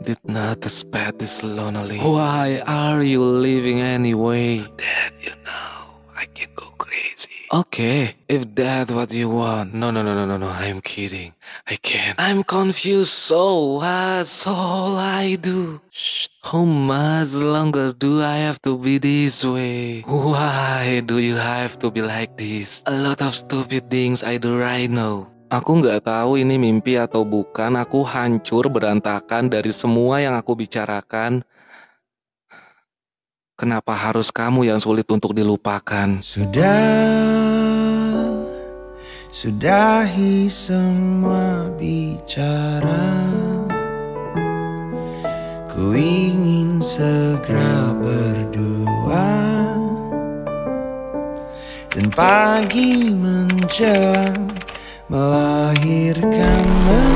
did not expect this lonely. Why are you leaving anyway? Dad, you know, I can go crazy. Okay, if that's what you want. No, I'm kidding. I can't. I'm confused, so that's all I do. Shh. How much longer do I have to be this way? Why do you have to be like this? A lot of stupid things I do right now. Aku nggak tahu ini mimpi atau bukan. Aku hancur berantakan dari semua yang aku bicarakan. Kenapa harus kamu yang sulit untuk dilupakan? Sudahi semua bicara. Ku ingin segera berdua, dan pagi menjelang melahirkan